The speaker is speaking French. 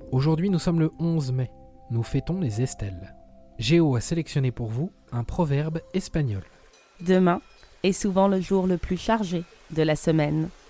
Aujourd'hui, nous sommes le 11 mai. Nous fêtons les Estelles. Géo a sélectionné pour vous un proverbe espagnol. Demain est souvent le jour le plus chargé de la semaine.